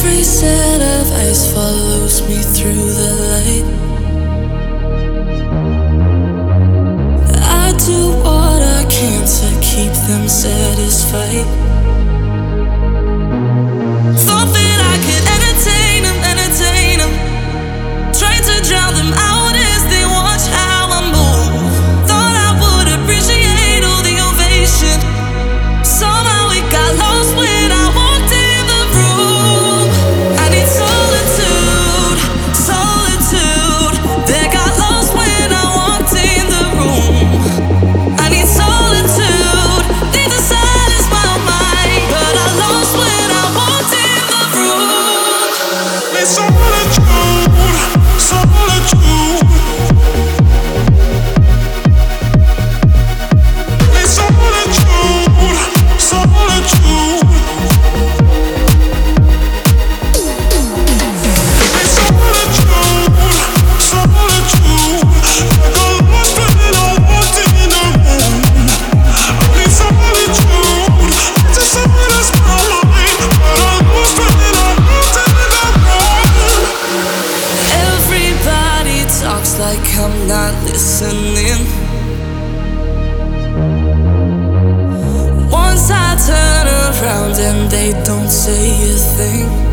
Every set of eyes follows me through the light. I do what I can to keep them satisfied. Thought that I could entertain them. Tried to drown them out as they watch how I move. Thought I would appreciate all the ovation. Somehow it got lost when I walked in the room. I need solitude. That got lost when I walked in the room. I need solitude. Need to silence my mind, but I lost when I walked in the room. Need solitude. Need solitude. Talks like I'm not listening. Once I turn around and they don't say a thing.